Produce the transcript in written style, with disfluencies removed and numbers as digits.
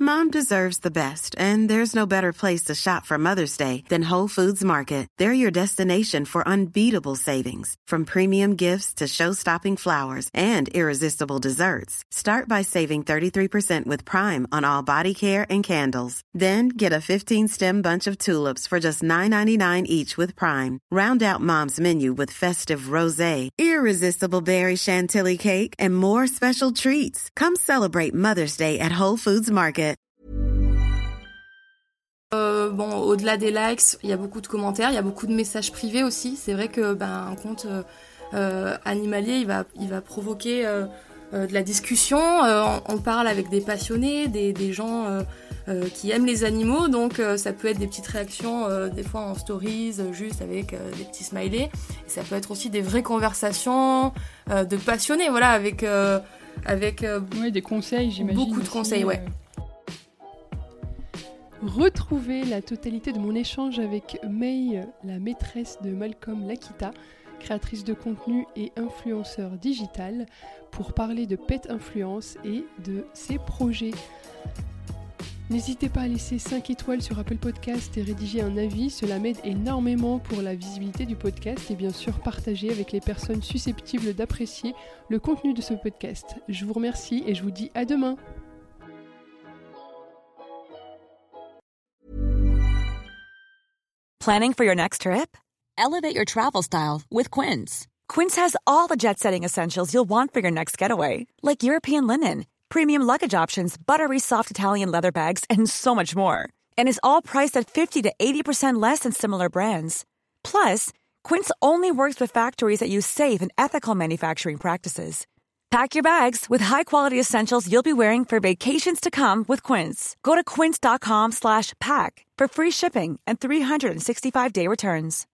Mom deserves the best, and there's no better place to shop for Mother's Day than Whole Foods Market. They're your destination for unbeatable savings, from premium gifts to show-stopping flowers and irresistible desserts. Start by saving 33% with Prime on all body care and candles. Then get a 15-stem bunch of tulips for just $9.99 each with Prime. Round out Mom's menu with festive rosé, irresistible berry chantilly cake, and more special treats. Come celebrate Mother's Day at Whole Foods Market. Au-delà des likes, il y a beaucoup de commentaires, il y a beaucoup de messages privés aussi. C'est vrai que un compte animalier, il va provoquer de la discussion. On parle avec des passionnés, des gens qui aiment les animaux, donc ça peut être des petites réactions, des fois en stories, juste avec des petits smileys. Et ça peut être aussi des vraies conversations de passionnés, voilà, avec des conseils, j'imagine. Beaucoup de conseils, ouais. Retrouvez la totalité de mon échange avec May, la maîtresse de Malcolm Lakita, créatrice de contenu et influenceur digital, pour parler de Pet Influence et de ses projets. N'hésitez pas à laisser 5 étoiles sur Apple Podcast et rédiger un avis, cela m'aide énormément pour la visibilité du podcast et bien sûr partager avec les personnes susceptibles d'apprécier le contenu de ce podcast. Je vous remercie et je vous dis à demain. Planning for your next trip? Elevate your travel style with Quince. Quince has all the jet-setting essentials you'll want for your next getaway, like European linen, premium luggage options, buttery soft Italian leather bags, and so much more. And is all priced at 50 to 80% less than similar brands. Plus, Quince only works with factories that use safe and ethical manufacturing practices. Pack your bags with high-quality essentials you'll be wearing for vacations to come with Quince. Go to quince.com/pack for free shipping and 365-day returns.